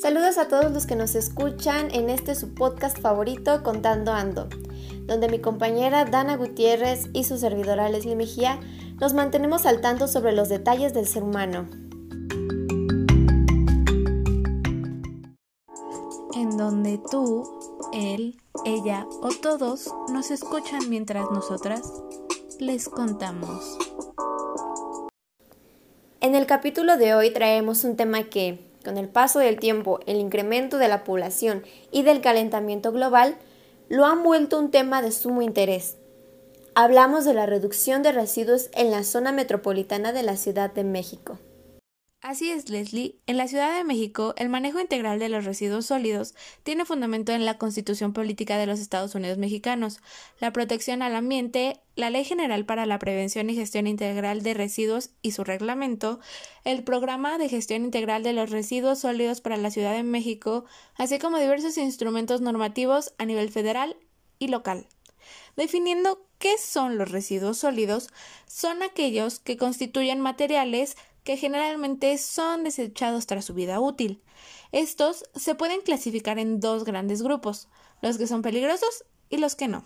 Saludos a todos los que nos escuchan en su podcast favorito, Contando Ando, donde mi compañera Dana Gutiérrez y su servidora Leslie Mejía nos mantenemos al tanto sobre los detalles del ser humano. En donde tú, él, ella o todos nos escuchan mientras nosotras les contamos. En el capítulo de hoy traemos un tema que, con el paso del tiempo, el incremento de la población y del calentamiento global, lo han vuelto un tema de sumo interés. Hablamos de la reducción de residuos en la zona metropolitana de la Ciudad de México. Así es, Leslie. En la Ciudad de México, el manejo integral de los residuos sólidos tiene fundamento en la Constitución Política de los Estados Unidos Mexicanos, la protección al ambiente, la Ley General para la Prevención y Gestión Integral de Residuos y su reglamento, el Programa de Gestión Integral de los Residuos Sólidos para la Ciudad de México, así como diversos instrumentos normativos a nivel federal y local. Definiendo qué son los residuos sólidos, son aquellos que constituyen materiales que generalmente son desechados tras su vida útil. Estos se pueden clasificar en dos grandes grupos, los que son peligrosos y los que no.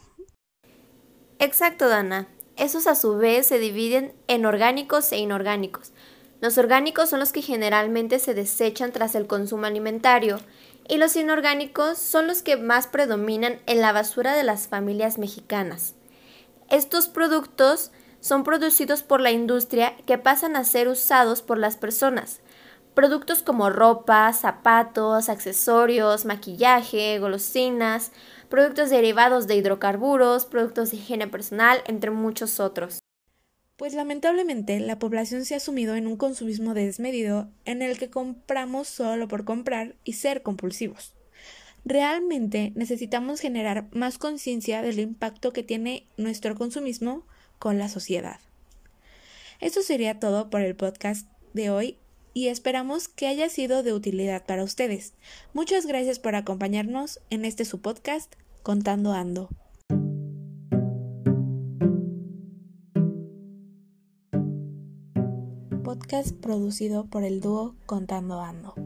Exacto, Dana. Esos a su vez se dividen en orgánicos e inorgánicos. Los orgánicos son los que generalmente se desechan tras el consumo alimentario y los inorgánicos son los que más predominan en la basura de las familias mexicanas. Estos productos son producidos por la industria que pasan a ser usados por las personas. Productos como ropa, zapatos, accesorios, maquillaje, golosinas, productos derivados de hidrocarburos, productos de higiene personal, entre muchos otros. Pues lamentablemente la población se ha sumido en un consumismo desmedido en el que compramos solo por comprar y ser compulsivos. Realmente necesitamos generar más conciencia del impacto que tiene nuestro consumismo con la sociedad. Eso sería todo por el podcast de hoy y esperamos que haya sido de utilidad para ustedes. Muchas gracias por acompañarnos en su podcast Contando Ando. Podcast producido por el dúo Contando Ando.